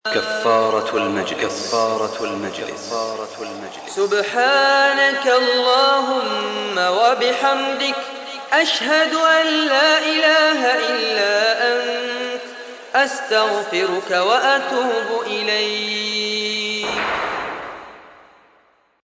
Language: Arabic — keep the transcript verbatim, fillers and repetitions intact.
كفارة المجلس كفارة المجلس كفارة المجلس سبحانك اللهم وبحمدك أشهد أن لا إله إلا أنت أستغفرك وأتوب إليك.